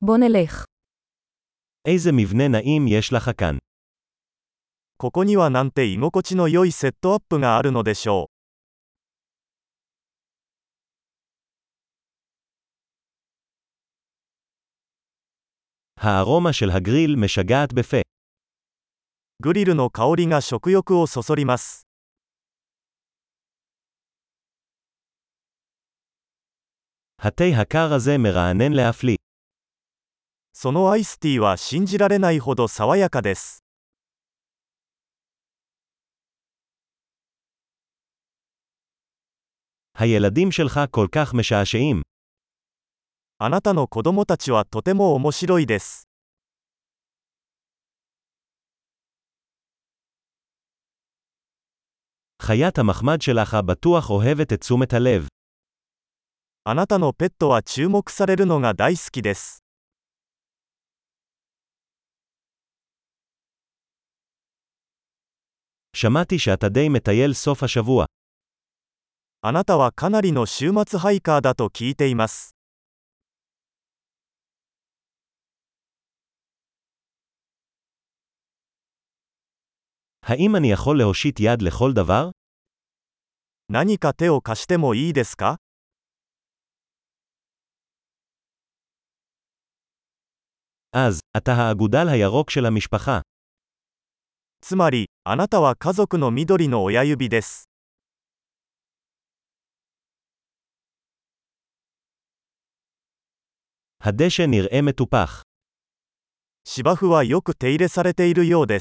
בוא נלך. איזה מבנה נעים יש לך כאן. ここにはなんて居心地の良いセットアップがあるのでしょう。 הארומה של הגריל משגעת בפה. グリルの香りが食欲をそそります。 התה הקר הזה מרענן להפליא. そのアイスティーは信じられないほど爽やかです。 הילדים שלך כל כך משעשעים. あなたの子供たちはとても面白いです。 חיית המחמד שלך בטוח אוהבת את תשומת הלב. あなたのペットは注目されるのが大好きです。 שמעתי שאתה די מטייל סוף השבוע. あなたはかなりの週末ハイカーだと聞いています。 האם אני יכול להושיט יד לכל דבר? 何か手を貸してもいいですか？ אז, אתה האגודל הירוק של המשפחה. つまり、あなたは家族の緑の親指です。 הדשא נראה מטופח. 芝生はよく手入れされているようです。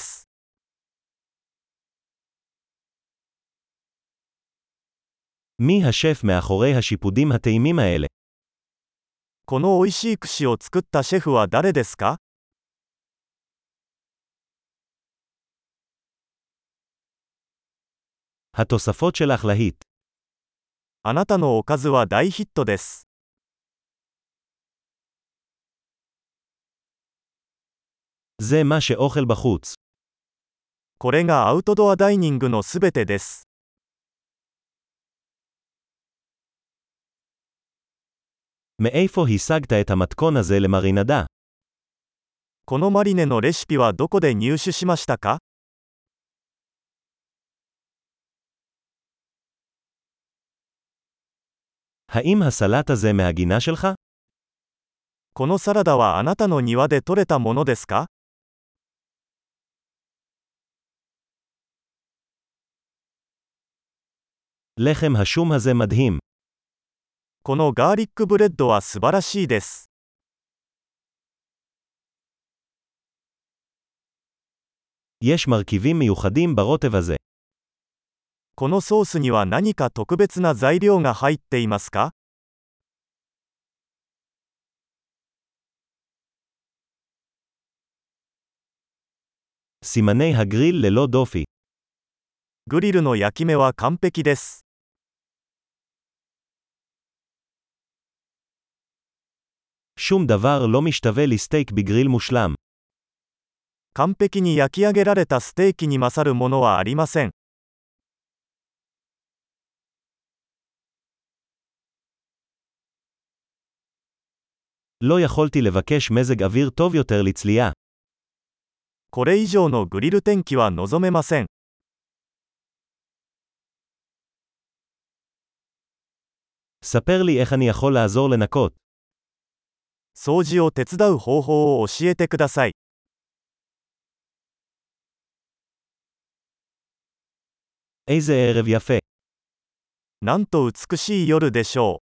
מי השף מאחורי השיפודים הטעימים האלה? この美味しい串を作ったシェフは誰ですか？ התוספות שלך להיט. あなたのおかずは大ヒットです。 זה מה שאוכל בחוץ. これがアウトドアダイニングのすべてです。 מאיפה השגת את המתכון הזה למרינדה? このマリネのレシピはどこで入手しましたか？ האם הסלט הזה מהגינה שלך? このサラダはあなたの庭で採れたものですか？ לחם השום הזה מדהים. このガーリックブレッドは素晴らしいです。 יש מרכיבים מיוחדים ברוטב הזה. このソースには何か特別な材料が入っていますか？ סימני הגריל ללא דופי. グリルの焼き目は完璧です。 שום דבר לא משתווה לסטייק בגריל מושלם. 完璧に焼き上げられたステーキに勝るものはありません。 לא יכולתי לבקש מזג אוויר טוב יותר לצלייה. これ以上のグリル天気は望めません。 ספר לי איך אני יכול לעזור לנקות. 掃除を手伝う方法を教えてください。 איזה ערב יפה. なんと美しい夜でしょう。